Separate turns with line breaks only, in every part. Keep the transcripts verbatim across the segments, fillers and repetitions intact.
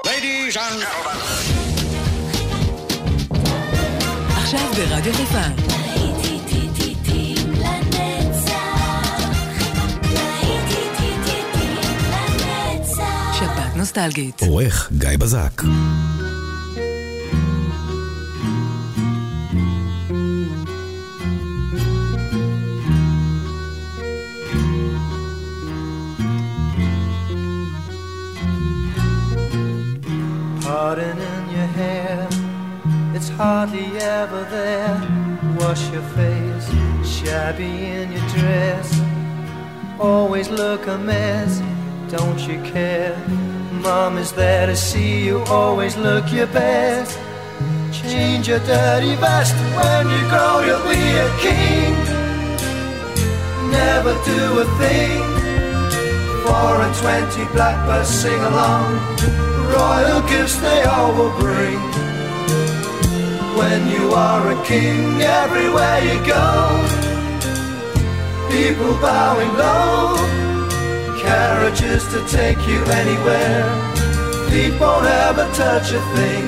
Ladies and gentlemen.
עכשיו ברדיו חיפה. שבת נוסטלגית.
עורך גיא בזק.
Pardon in your hair, it's hardly ever there. Wash your face, shabby in your dress. Always look a mess, don't you care? Mom is there to see you, always look your best. Change your dirty vest, when you grow you'll be a king. Never do a thing, four and twenty blackbirds sing along. Royal gifts they all will bring. When you are a king, everywhere you go, people bowing low, carriages to take you anywhere, feet won't ever touch a thing.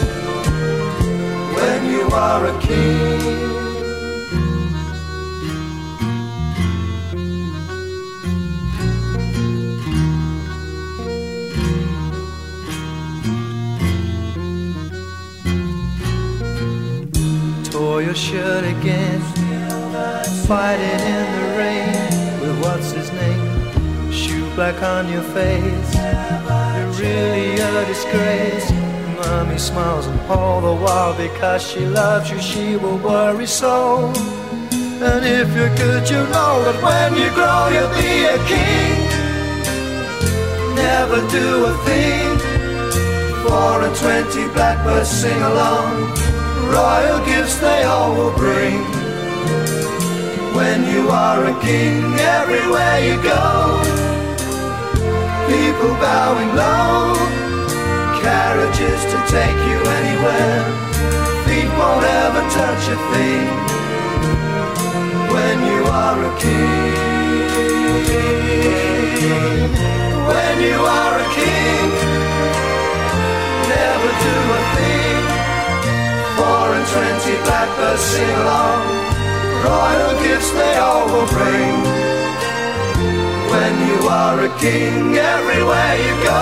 When you are a king. Tore your shirt again, fighting in the rain with what's his name, shoe black on your face. You're really a disgrace. Mommy smiles and all the while because she loves you she will worry so. And if you're good you know that when you grow you'll be a king. Never do a thing, four and twenty blackbirds sing along. Royal gifts they all will bring. When you are a king, everywhere you go, people bowing low, carriages to take you anywhere, feet won't ever touch a thing. When you are a king, when you are a king, never do a thing, four and twenty blackbirds sing along. Royal gifts they all will bring. When you are a king, everywhere you go,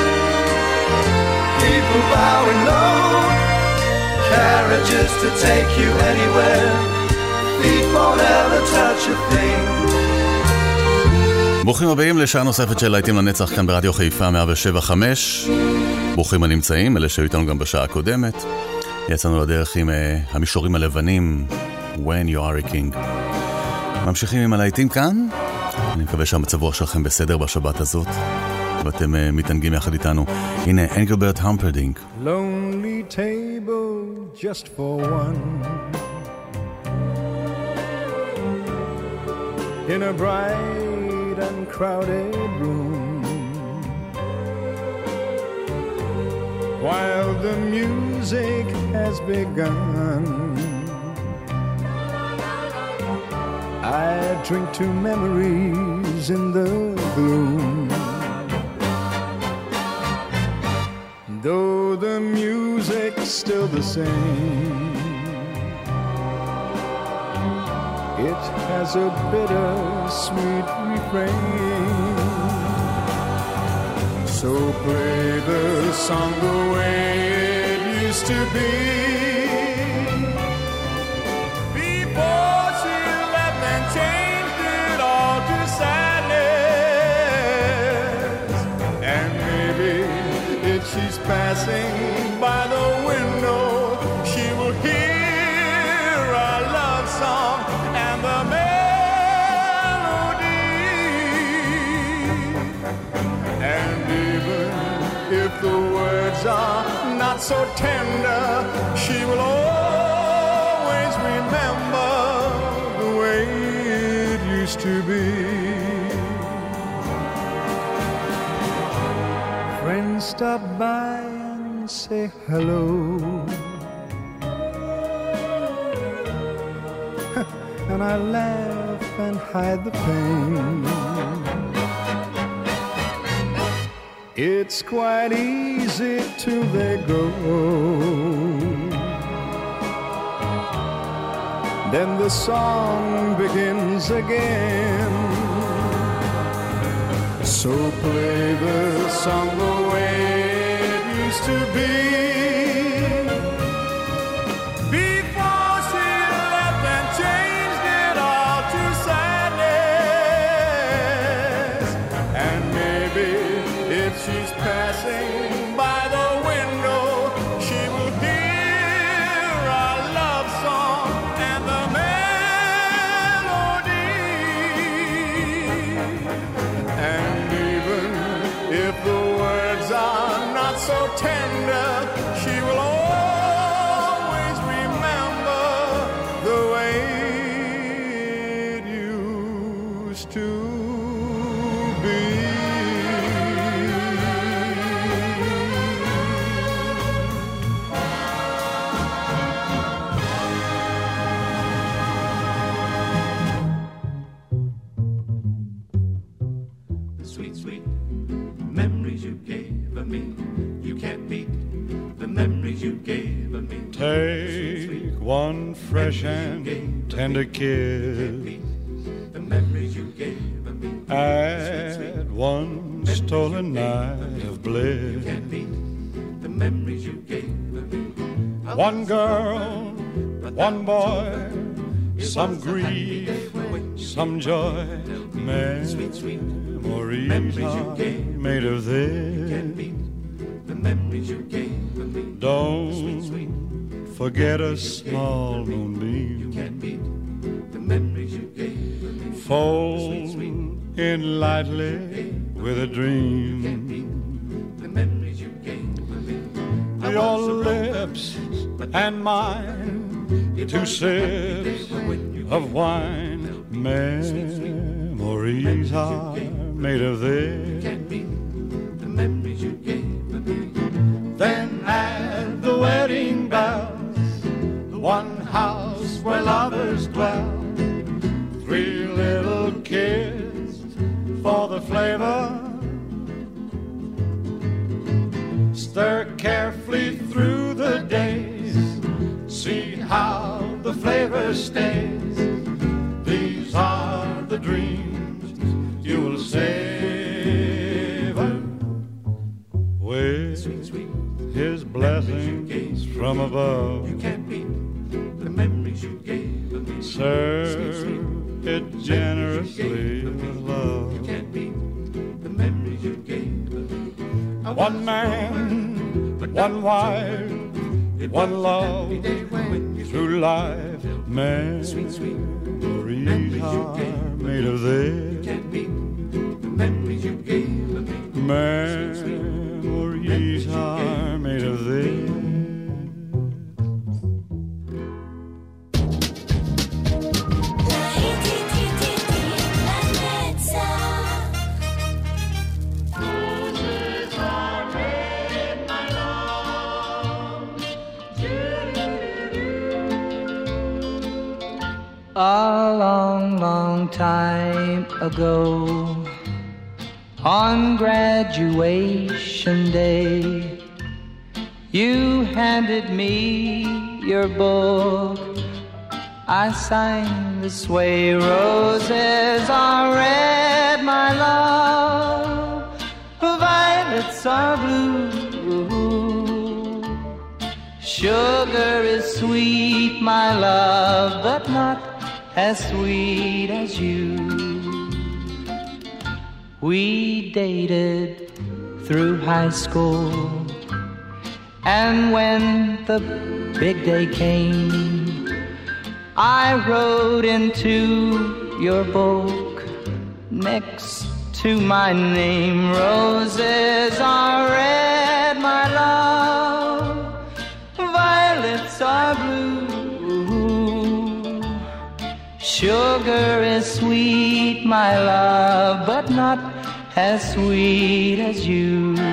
people bowing low, carriages to take you anywhere, feet won't ever touch a thing.
ברוכים הבאים לשעה נוספת של להיטים לנצח כאן ברדיו חיפה מאה שבע חמש. ברוכים הנמצאים, אלה שהיו איתנו גם בשעה הקודמת. יצאנו לדרך עם uh, המישורים הלבנים, When You Are a King. ממשיכים עם הלהיטים כאן. אני מקווה שהמצב רוח שלכם בסדר בשבת הזאת, ואתם uh, מתענגים יחד איתנו. הנה, אנגלברט המפרדינק.
Lonely table just for one, in a bright and crowded room, while the music has begun, I drink to memories in the gloom. Though the music's still the same, it has a bitter-sweet refrain. So play the song the way it used to be, before she left and changed it all to sadness. And maybe if she's passing by the window, she will hear our love song and the melody. And even if the words are not so tender, she will always remember the way it used to be. Friends stop by and say hello, and I laugh and hide the pain. it's quite easy till they go. Then the song begins again. So play the song the way it used to be. Before she left and changed it all to sadness. And maybe if she's passing by the window, she will hear our love song and the melody. And even if the words are not so tender, she will always remember the way it used to be.
Sweet, sweet memories you gave me. You can't beat the memories you gave me.
Take one fresh and tender kiss.
The memories you gave me.
Add one stolen night of bliss.
Can't beat the memories you gave me.
One girl, one boy, some grief, some joy. Memories are made of this.
The memories you gave me.
Don't forget a small moonbeam.
The memories you gave me.
Fold in lightly with a dream.
The memories you gave me.
Your lips and mine, two sips of wine. Memories are made of this.
The memories you gave me.
Then add the wedding bells, one house where lovers dwell, three little kids for the flavor. Stir carefully through the days, see how the flavor stays. These are the dreams you will savor with his blessings from above.
You can't beat the memories you gave me.
Serve it generously with love.
You can't beat the memories you gave me.
One man, one wife, one love through life. Memories are made of this.
You can't beat the memories you gave me.
Memories are made of this.
A long, long time ago, on graduation day, you handed me your book. I signed this way: roses are red, my love, violets are blue. Sugar is sweet, my love, but not as sweet as you. We dated through high school, and when the big day came, I wrote into your book next to my name: roses are red, my love, violets are blue. Sugar is sweet, my love, but not as sweet as you.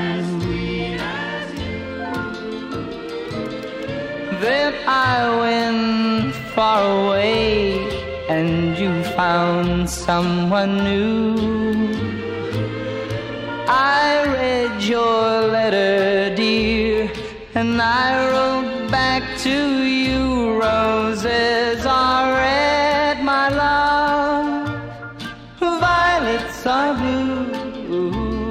Then I went far away, and you found someone new. I read your letter, dear, and I wrote back to you. Roses are red, my love, violets are blue.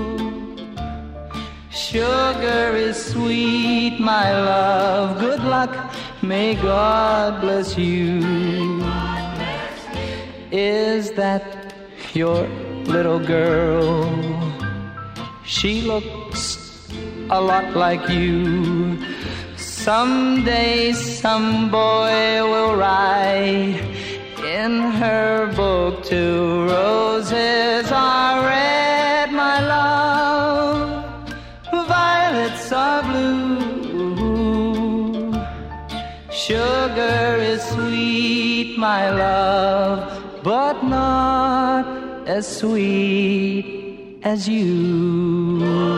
Sugar is sweet, my love. Good luck, may God bless you. Is that your little girl? She looks a lot like you. Someday some boy will write in her book too. Roses are red, my love, violets are blue. Sugar is sweet, my love, but not as sweet as you.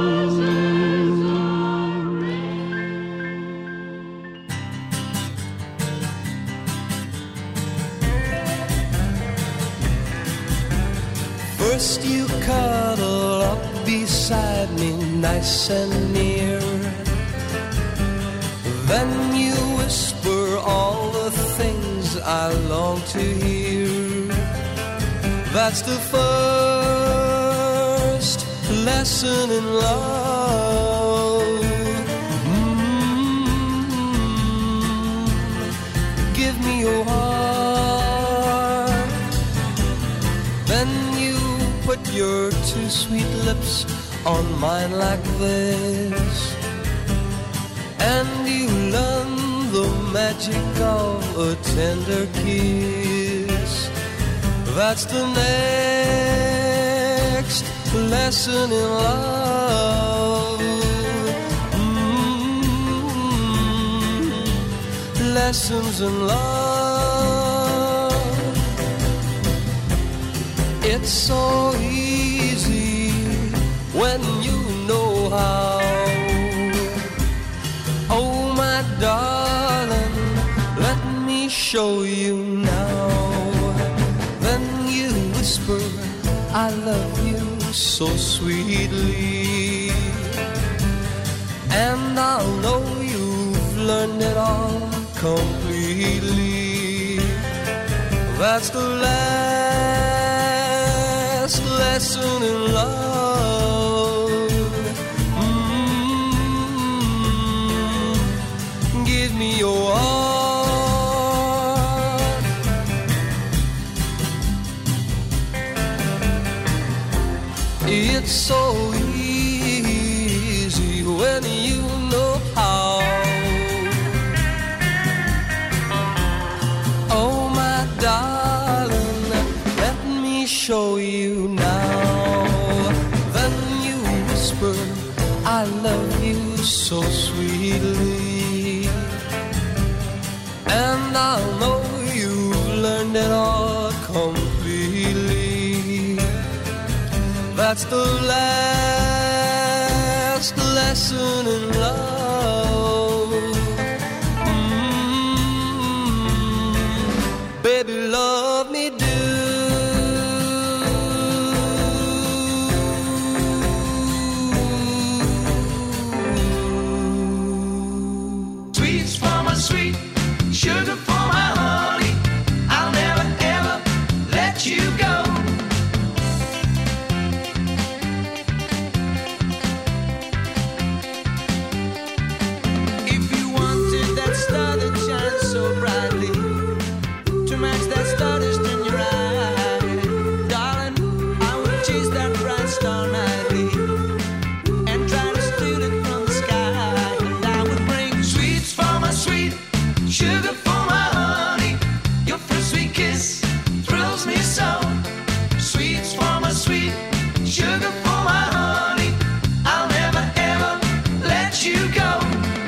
First you cuddle up beside me nice and near, then you whisper all the things I long to hear. That's the first lesson in love. Mm-hmm. Give me your heart, then you put your two sweet lips on mine like this, and you learn the magic of a tender kiss. That's the next lesson in love. Mm-hmm. Lessons in love. It's so easy when you know how. Oh, my darling, let me show you now. Whisper, I love you so sweetly, and I'll know you've learned it all completely. That's the last lesson in love. Mm-hmm. Give me your all. It's so easy when you know how. Oh, my darling, let me show you now. Then you whisper, I love you so sweetly, and I'll know you've learned it all completely. That's the last lesson in love. Mm-hmm. Baby, love me do.
Sweets for my sweet, sugar for my honey. I'll never ever let you go. Sugar for my honey, your first sweet kiss thrills me so. Sweets for my sweet, sugar for my honey, I'll never ever let you go.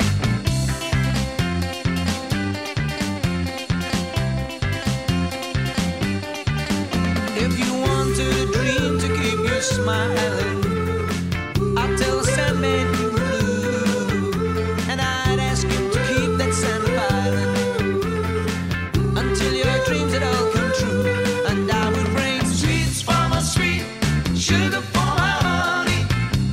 If you want a dream to keep you smiling, I'll tell Sandman you were blue, and I'd ask him to keep that sand piling until your dreams had all come true. And I would bring sweets for my sweet, sugar for my honey,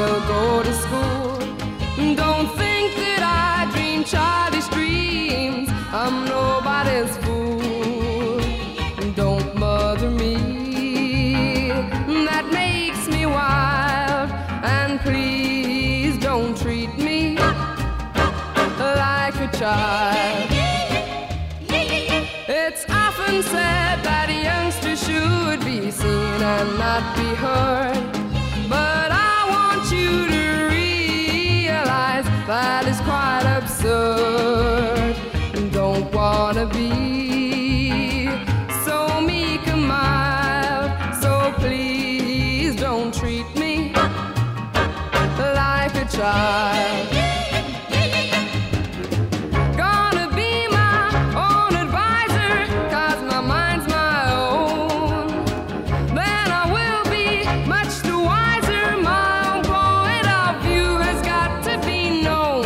will go to school. Don't think that I dream childish dreams. I'm nobody's fool. Don't mother me. That makes me wild. And please don't treat me like a child. It's often said that a youngster should be seen and not be heard. But I want you to realize that is quite absurd. Don't wanna be so meek and mild, so please don't treat me like a child. Gonna be my own advisor, 'cause my mind's my own. Then I will be much the wiser. My own point of view has got to be known.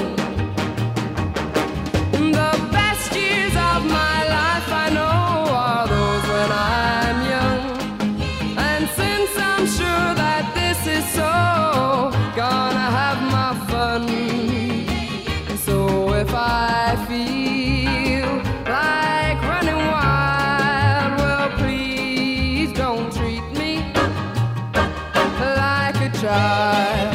The best years of my life I know are those when I'm young. And since I'm sure that this is so, gonna have my fun. So if I feel like running wild, well, please don't treat me like a child.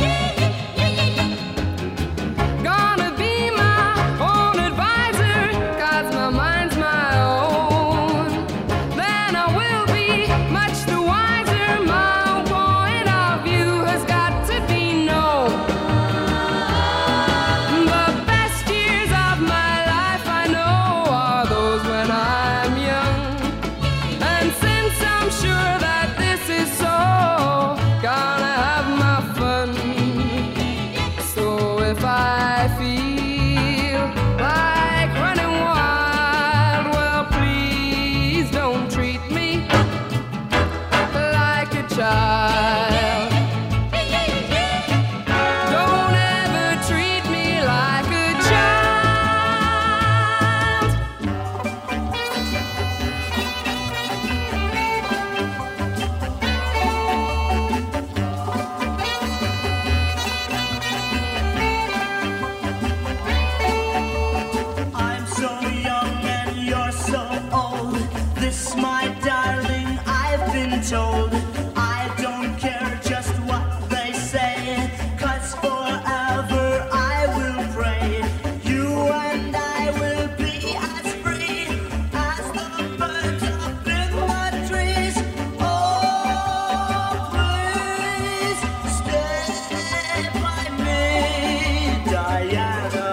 Gonna be my own advisor, 'cause my mind's my own. Then I will be much the wiser. My own point of view has got to be known. The best years of my life I know are those when I'm young. And since I'm sure that this is so, gonna have my fun. So if I feel like running wild, well, please don't treat me like a child. Don't ever treat me like a child.
I'm so young and you're so old. This, my darling, I've been told. I don't care just what they say, 'cause forever I will pray. You and I will be as free as the birds up in the trees. Oh, please stay by me, Diana.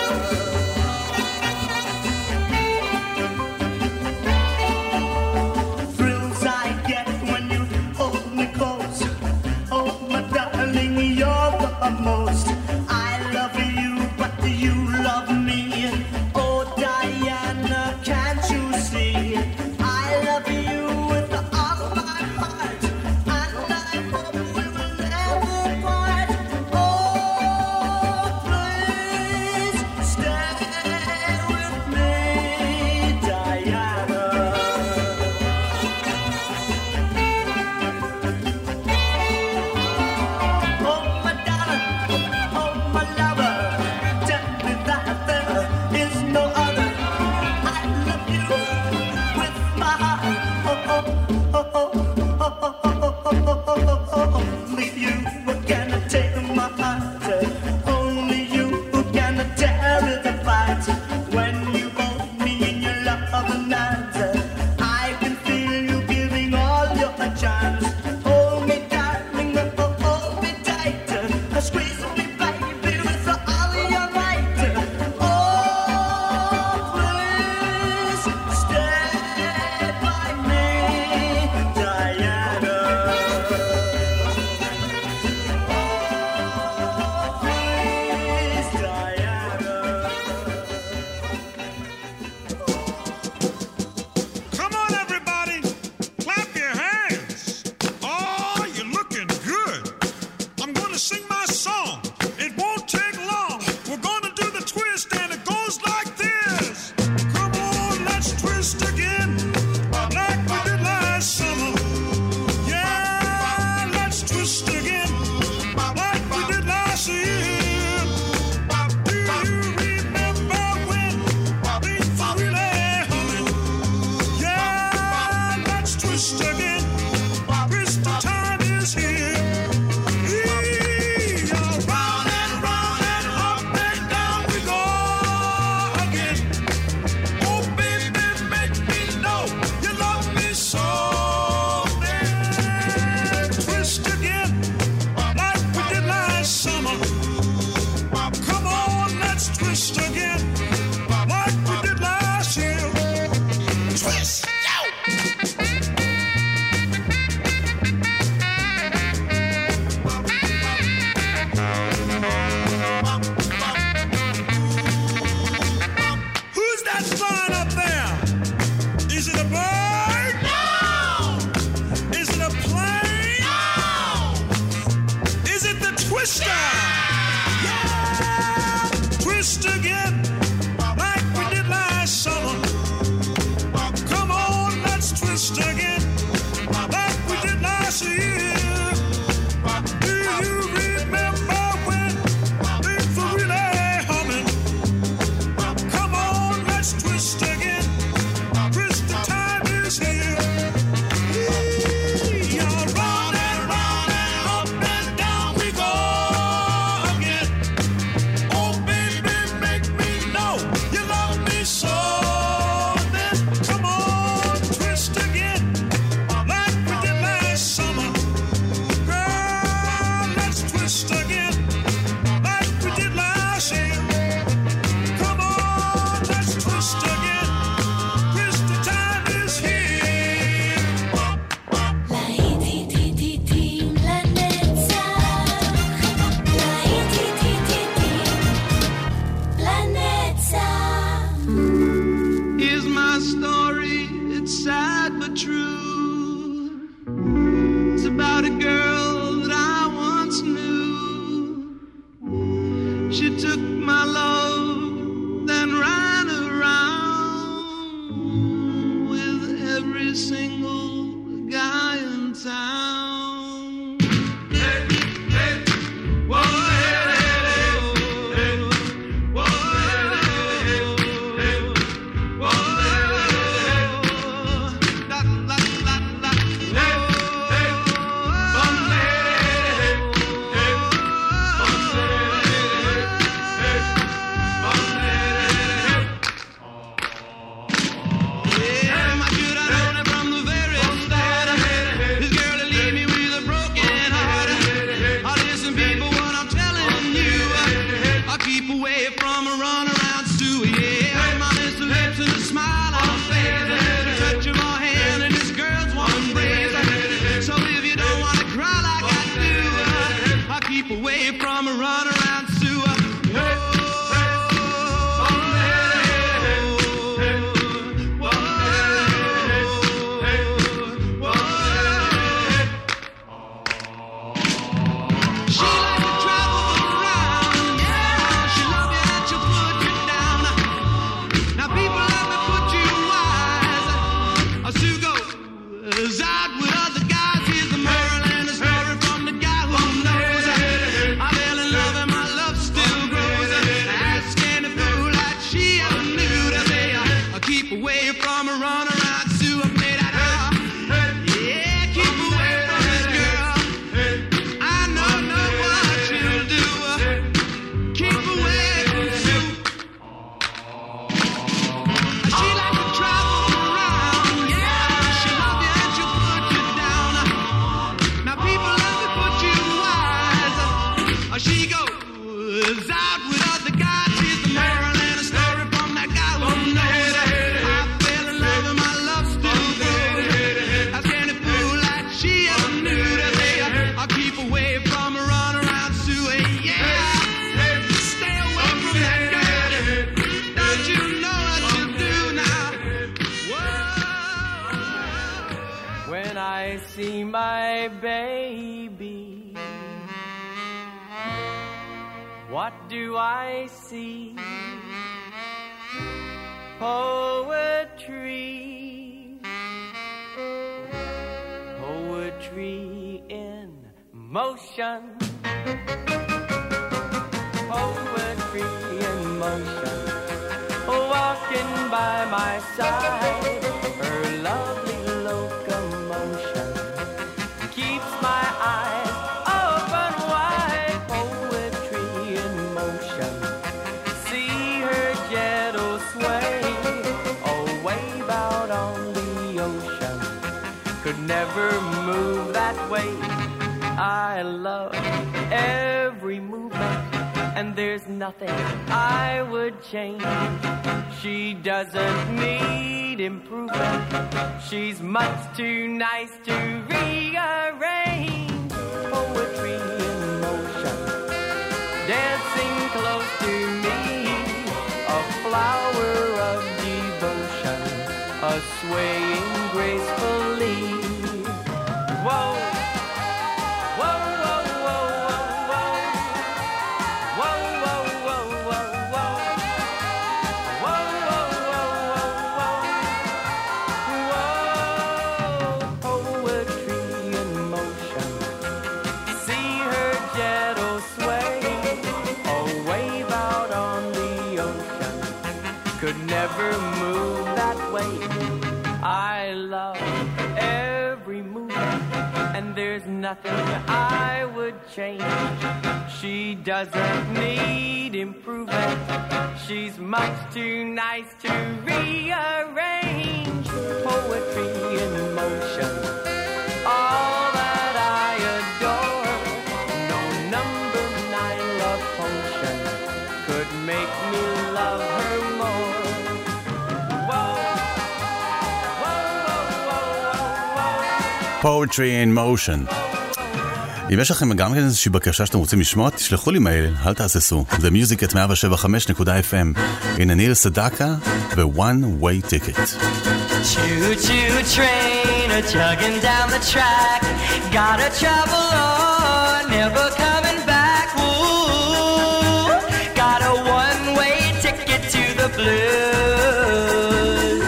Thrills I get when you hold me close. Oh, my darling, you're the most. I love you, but do you love me? Oh, Diana, can't you see? I love you with all my heart, and I hope we will never part. Oh, please stay with me, Diana. Oh, my darling, oh,
twist again, like we did last year. Twist, yo! Who's that flying up there? Is it a bird? No! Is it a plane? No! Is it the twister? Yeah! Twist again, like we did last summer. Come on, let's twist again, like we did last year. Do you remember when things were really humming? Come on, let's twist again. Twist, the time is here. You're round and round and up and down we go again. Oh, baby, make me know you love me so. Then come on, twist again, like we did last summer. Girl, let's twist again, like we did last year. Come on, let's twist again. Twist, the time is here.
Here's my story, it's sad but true. It's about a girl that I once knew. She took my love, then ran around with every single guy in town. Hey, hey, whoa, hey, hey, hey, whoa, hey, hey, whoa, la, la, la, la, hey, hey, bum, hey, hey, hey, bum, hey, bum, yeah, my should I known it from the very start. This girl will leave me with a broken heart. Oh, listen, people, what I'm telling you, I keep away from a runaround Sue. Yeah, my little lips and a smile on her face, the touch of my hand and this girl's one embrace. So if you don't want to cry like I do, I keep away from a runaround Sue. She likes to travel around, yeah. She love you and she'll put you down. Now people, let me put you wise. Sue goes out with other guys. Here's the moral and the story from the guy who knows. I fell in love and my love still grows. Ask any fool like she ever knew to say, I keep away from a runaround Sue. I played that out. Yeah, keep away from this girl. I know, know what she'll do. Keep away from Sue. She likes to travel around, yeah. She love you and she'll put you down. Now people, let me put you wise. She goes out with other guys. Here's the moral and a story from that guy who knows. I fell in love and my love still grows. Ask any fool like she ever knew to say, I'll keep away from a runaround Sue. Yeah, stay away from that girl. Don't you know what you do now? Whoa.
When I see my baby, what do I see? Poetry, poetry in motion, poetry in motion, walking by my side, her lovely locomotion keeps my eyes open wide. Poetry in motion, see her gentle sway, a wave out on the ocean could never move that way. I love every movement and there's nothing I would change. She doesn't need improvement. She's much too nice to rearrange. Poetry in motion, dancing close to me, a flower of devotion, a swaying gracefully. Whoa. Never move that way. I love every move, and there's nothing I would change. She doesn't need improvement. She's much too nice to rearrange. Poetry in motion, all that I adore. No number nine love potion could make me love her more.
Poetry in Motion. אם יש לכם גם איזושהי בקשה שאתם רוצים לשמוע, תשלחו לי מייל, אל תעשסו. The Music at מאה שבע חמש נקודה אף אם. הנה ניל סדקה ו-One Way Ticket.
Choo-choo train a-chugging down the track, gotta travel on, never coming back. Ooh, got a one-way ticket to the blues.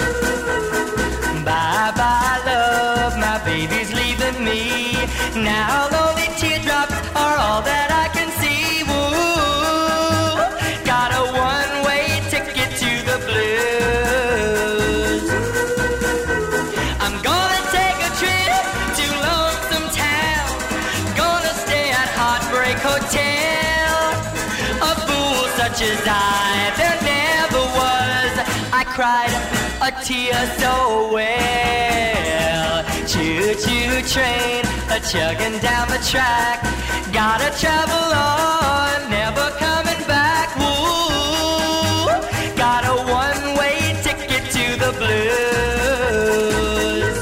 Bye-bye love, my baby's leaving me. Now lonely teardrops are all that I can see. Woo, got a one-way ticket to the blues. I'm gonna take a trip to Lonesome Town, gonna stay at Heartbreak Hotel. A fool such as I, there never was. I cried a tear so well. Choo-choo train a-chugging down the track, gotta travel on, never coming back. Woo, got a one-way ticket to the blues.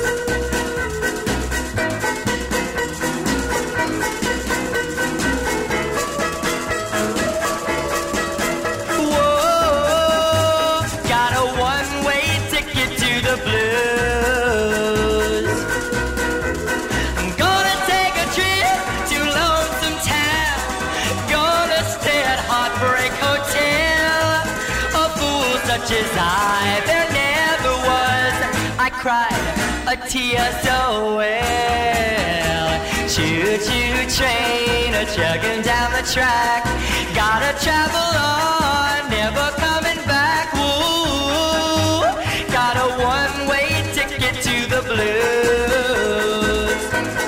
Whoa, got a one-way ticket to the blues. I'm gonna take a trip to Lonesome Town, gonna stay at Heartbreak Hotel. A fool such as I, there never was. I cried a tear so well. Choo-choo train a-chugging down the track, gotta travel on, never coming back. Woo, got a one-way ticket to the blues.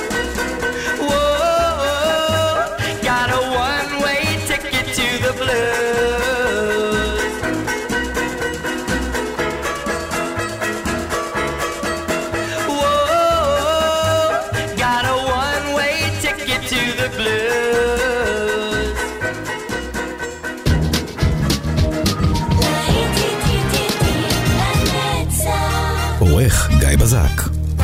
Whoa, got a one-way ticket to the blues. Whoa, got a one-way ticket to the blues.
עורך גיא בזק.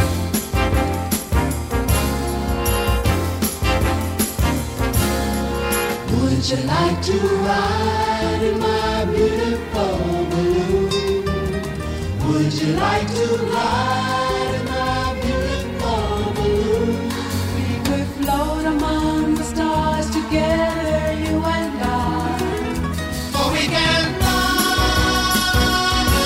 Would you like to ride in my beautiful balloon? Would you like to ride in my beautiful balloon? We could float among the stars together, you and I. For we can fly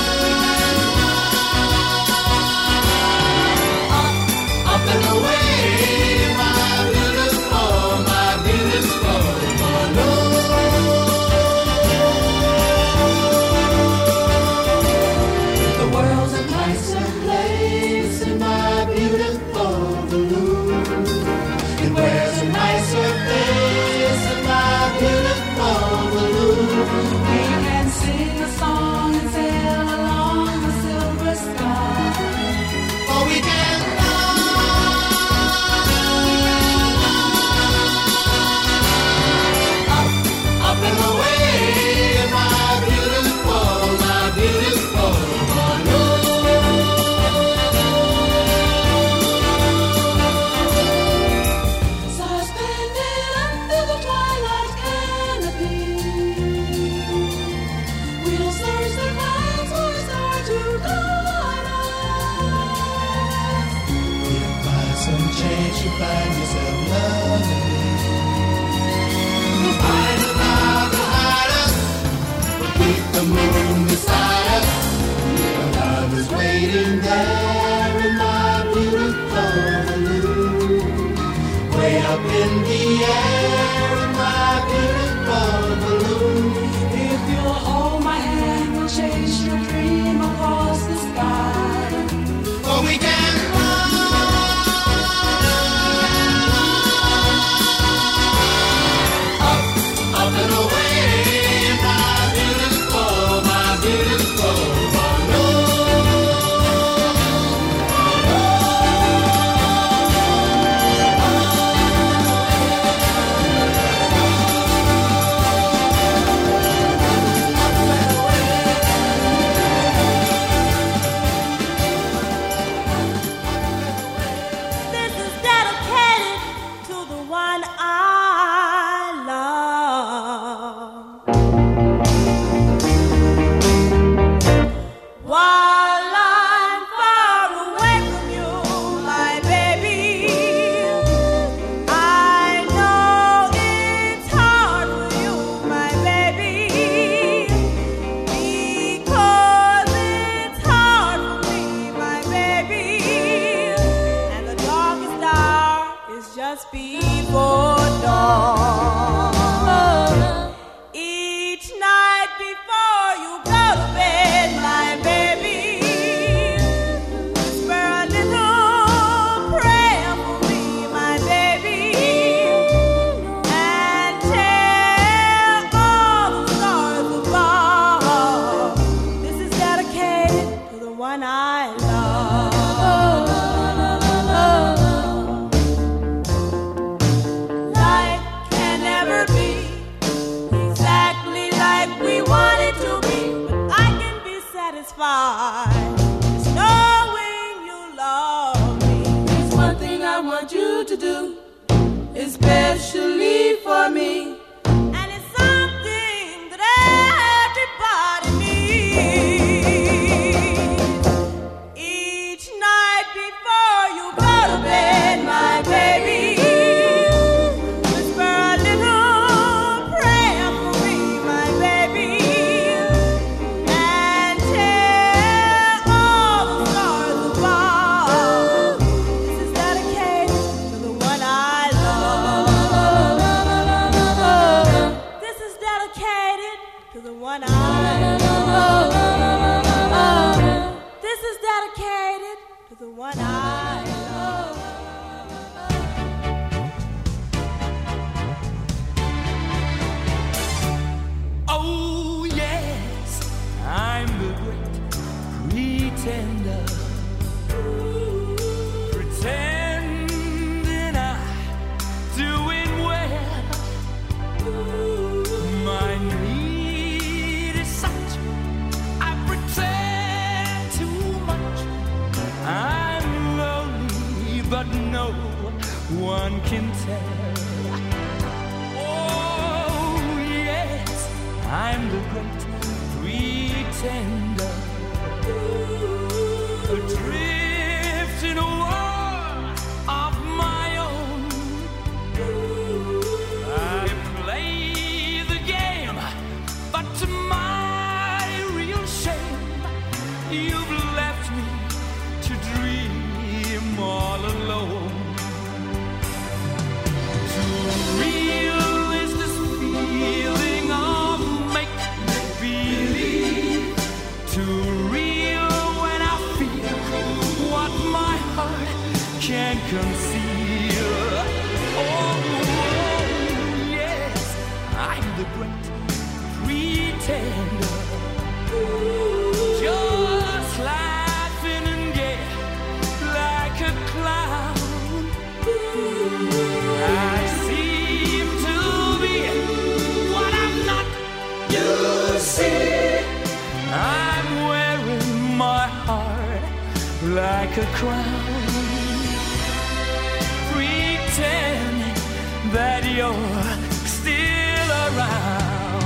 up, up and away, my beautiful, my beautiful balloon. The world's a nicer place
especially for me. And it's something that everybody needs. Each night before you go to bed, my baby, whisper a little prayer for me, my baby, and tell all the stars above. This is dedicated to the one I love. This is dedicated to the one I love. This is dedicated to the one I love.
Oh yes, I'm the great pretender, pretending I'm doing well. My need is such, I pretend too much. I'm lonely, but no one can tell. Oh yes, I'm the great pretender, adrift in a world of my own. I play the game, but to my real shame, you've left me to dream all alone. Too real is this feeling of make-believe. Too real when I feel what my heart can't conceal. Oh, yes, I'm the great pretender, just laughing and gay like a clown. I seem to be what I'm not. You see, I'm wearing my heart like a crown, pretending that you're still around.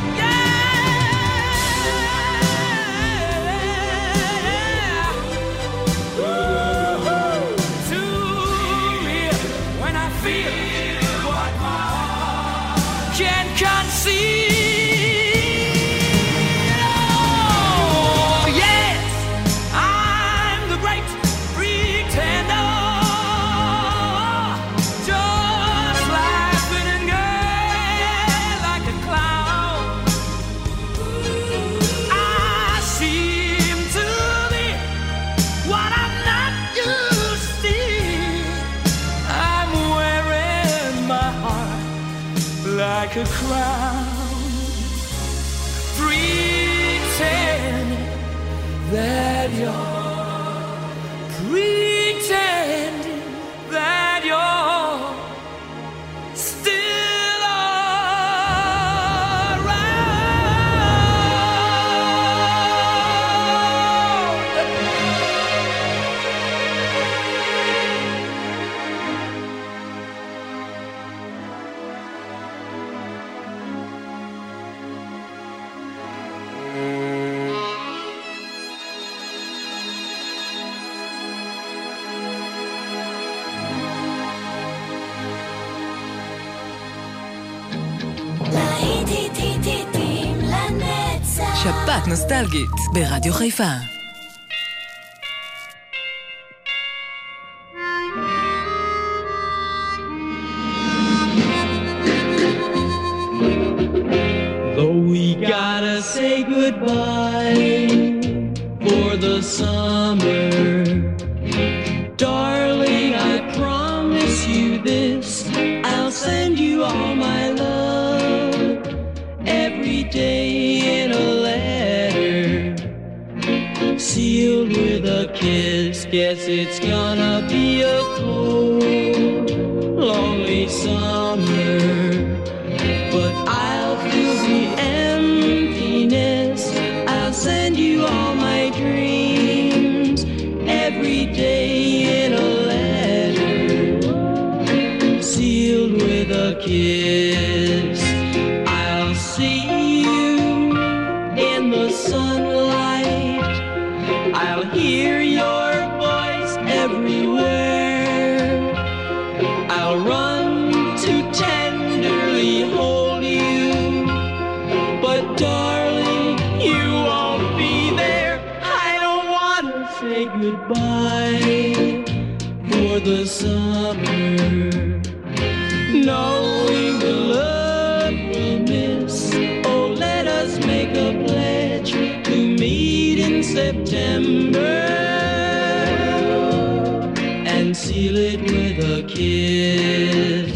Yeah. Ooh, too real when I feel what my heart can't conceive. Oh, yes, I'm the great pretender, just laughing and gay like a clown. I seem to be what I'm not used to. I'm wearing my heart like a crown, pretending that you're, pretending that you're still
שפעת נוסטלגית ברדיו חיפה.
Though we gotta say goodbye for the summer, darling, I promise you this, I'll send you all my love every day in a letter, sealed with a kiss. Guess it's gonna be a cold, lonely summer, but I'll fill the emptiness. I'll send you all my dreams every day in a letter, sealed with see you in the sunlight. I'll hear your voice everywhere. I'll run to tenderly hold you, but darling, you won't be there. I don't want to say goodbye for the summer, knowing the love we'll miss. Oh, let us make a pledge to meet in September and seal it with a kiss.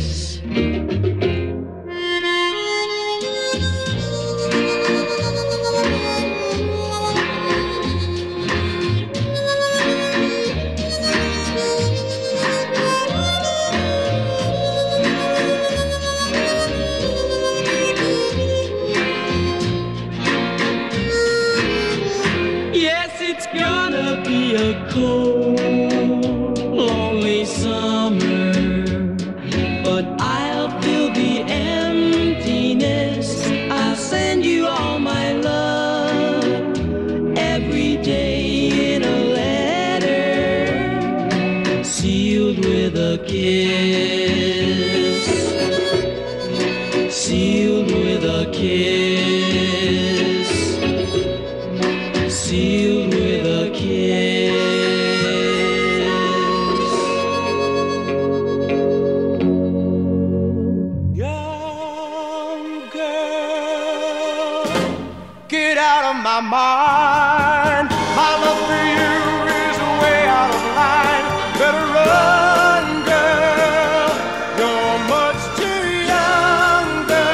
A cold, lonely summer, but I'll fill the emptiness. I'll send you all my love every day in a letter, sealed with a kiss, sealed with a kiss, sealed with a kiss.
My mind, my love for you is way out of line. Better run, girl, you're much too young,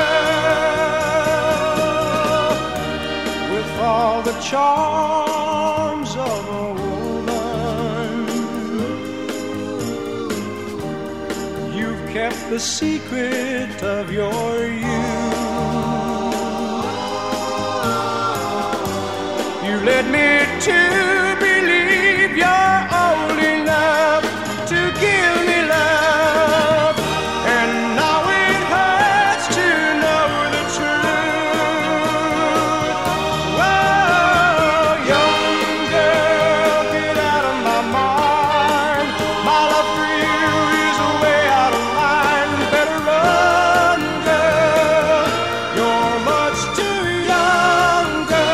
girl. With all the charms of a woman, you've kept the secret of your youth. Led me to believe you're old enough to give me love, and now it hurts to know the truth. Whoa, young girl, get out of my mind. My love for you is way out of line. Better run, girl, you're much too young, girl.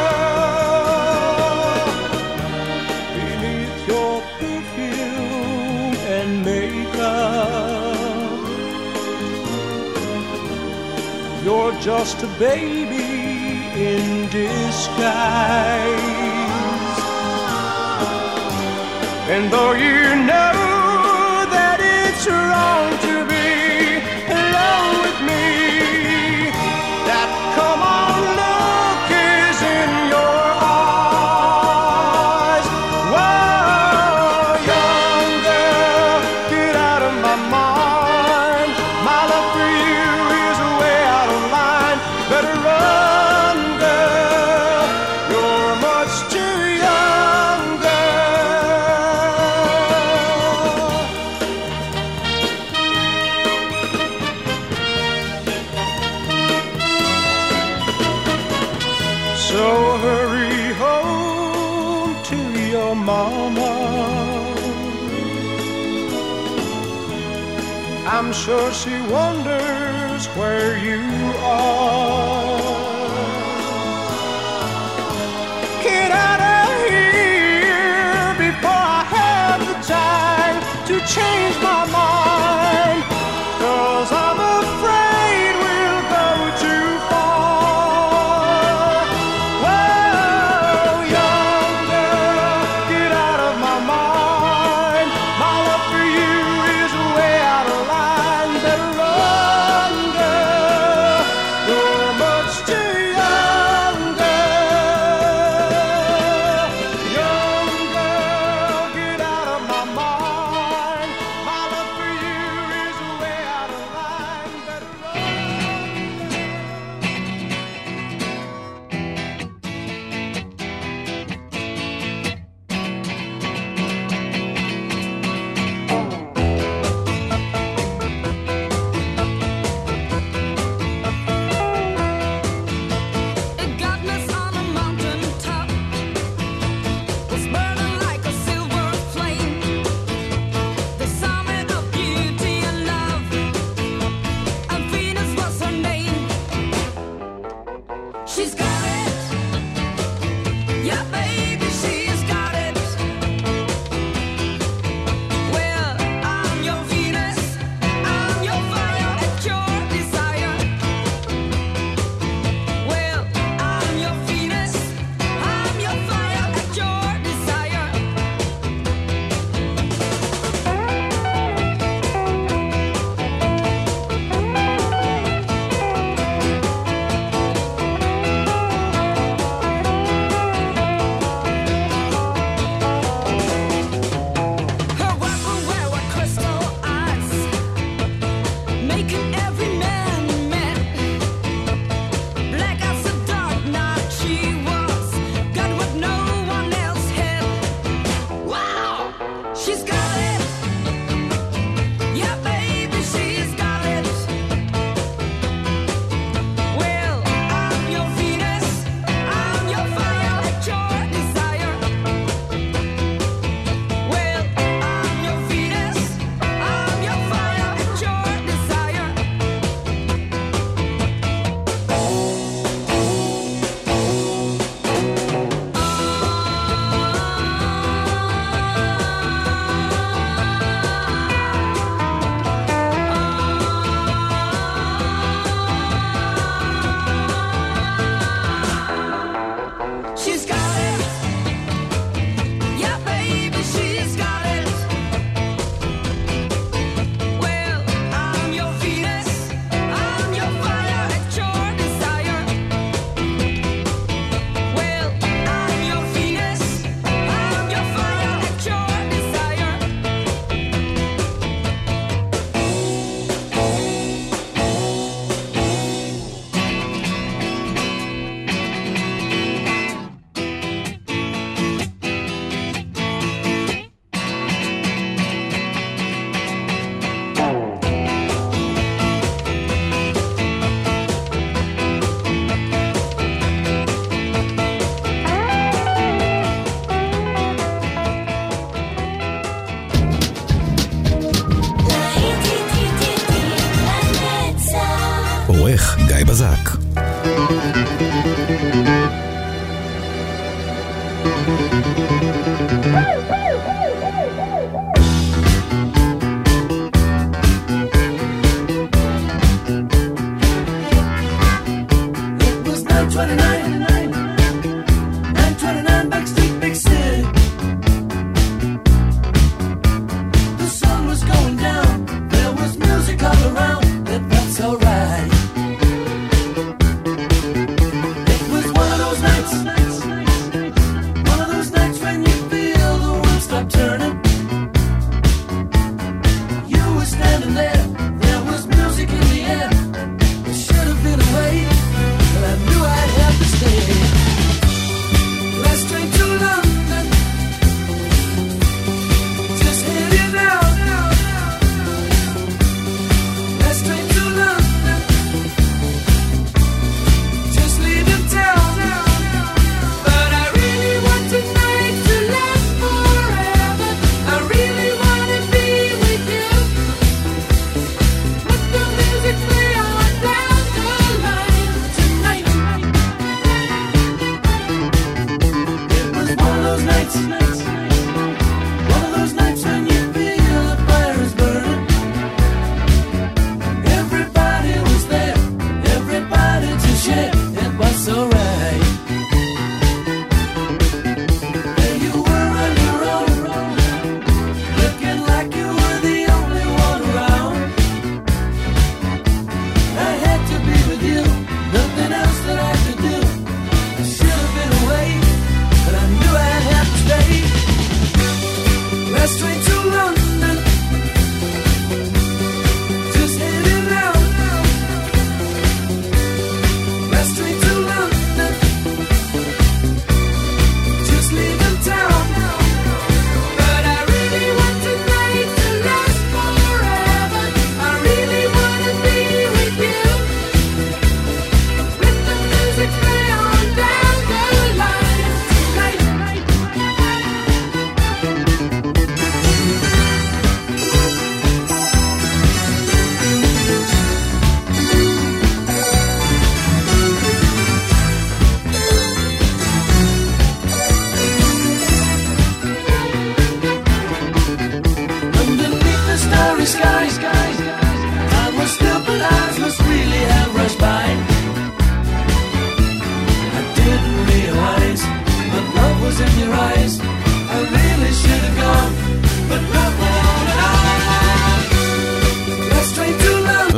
You're just a baby in disguise. And though you know that it's wrong to be alone with me, that come on look is in your eyes. Whoa, young girl, get out of my mind. My love for you is way out of line. Better run, girl, you're much too young, girl. So hurry home to your mama. I'm sure she wonders where you are. Get out of here before I have the time to change my mind, 'cause I'm afraid we'll go too far. Whoa, young girl, get out of my mind. My love for you is way out of line. Better run, girl, you're much too young, girl. Young girl, get out of my mind. My love
She's got it. Yeah, baby, she's got it. Well, I'm your Venus. I'm your fire at your desire. Well, I'm your Venus. I'm your fire at your desire. Her weapon wear were crystal eyes, making every man mad. Black as the dark night she was, got what no one else had. Wow, she's got it. Yeah, baby, she's got it. Well, I'm your Venus. I'm your fire at your desire. Well, I'm your Venus. I'm your fire at your desire. She's got it. Yeah, baby, she's got it. Well, I'm your Venus. I'm your fire at your desire. Well, I'm your Venus. I'm your fire at your desire.
עורך גיא בזק.
It was nine twenty-nine, nine twenty-nine Backstreet Big City. The sun was going down, there was music all around, it felt so right. It was one of those nights, one of those nights when you feel the world stop turning. You were standing there, there was music in the air. It should have been away, but I knew I'd have to stay. Last train to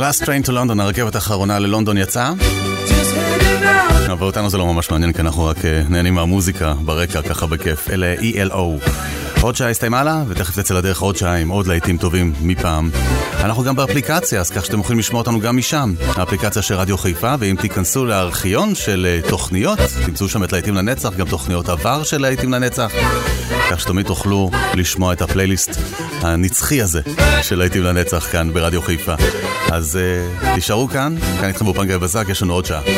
Last Train to London, הרכבת האחרונה ללונדון יצאה. אבל אותנו זה לא ממש מעניין, כי אנחנו רק נהנים מהמוזיקה ברקע, ככה בכיף. אלה E L O. עוד שעה הסתיימה לה, ותכף תצא לדרך עוד שעה עם עוד להיטים טובים מפעם. אנחנו גם באפליקציה, אז כך שאתם יכולים לשמוע אותנו גם משם. האפליקציה של רדיו חיפה, ואם תיכנסו לארכיון של תוכניות, תמצאו שם את להיטים לנצח, גם תוכניות עבר של להיטים לנצח, כך שתמיד תוכלו לשמוע את הפלייליסט הנצחי הזה של להיטים לנצח כאן ברדיו חיפה. אז uh, תישארו כאן, כאן איתכם באופן גיא בזק, יש לנו עוד שעה.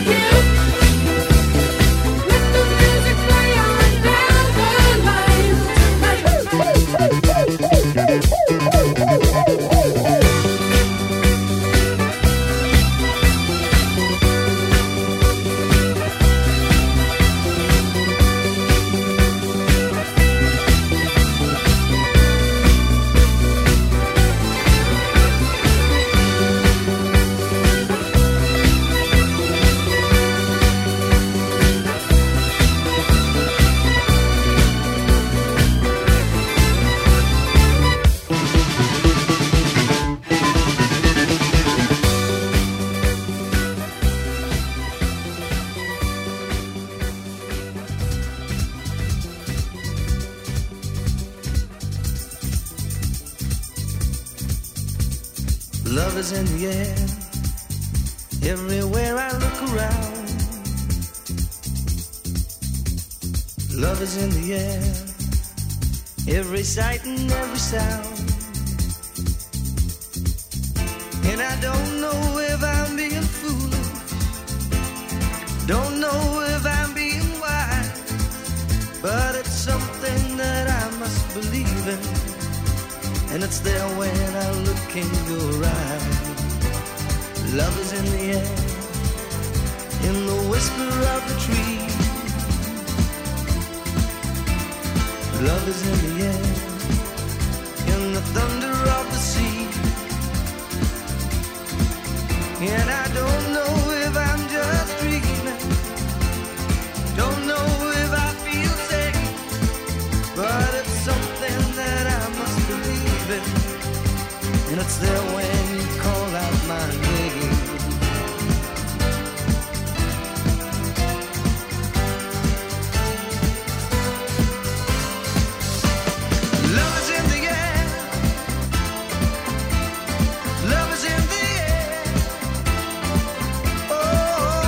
Love is in the air, everywhere I look around. Love is in the air, every sight and every sound. And I don't know if I'm being foolish, don't know if I'm being wise, but it's something that I must believe in. And it's there when I look in your eyes. Love is in the air, in the whisper of the tree. Love is in the air, in the thunder of the sea. And I don't know if I'm just dreaming, don't know if I feel safe, but it's something that I must believe in. And it's there when you call out my name. Love is in the air, love is in the air. Oh,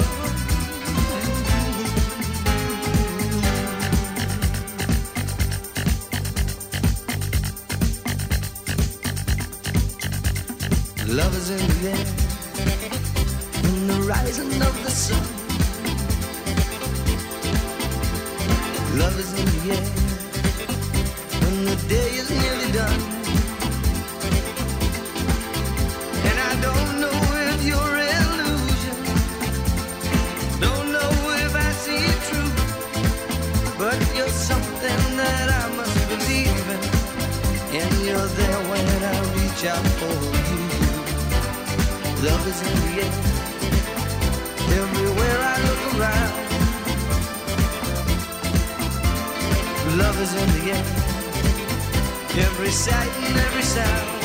love is in the air, in the rising of the sun. Love is in the air, when the day is nearly done. And I don't know if you're illusion, don't know if I see it true, but you're something that I must believe in. And you're there when I reach out for you. Love is in the air, everywhere I look around. Love is in the air, every sight and every sound.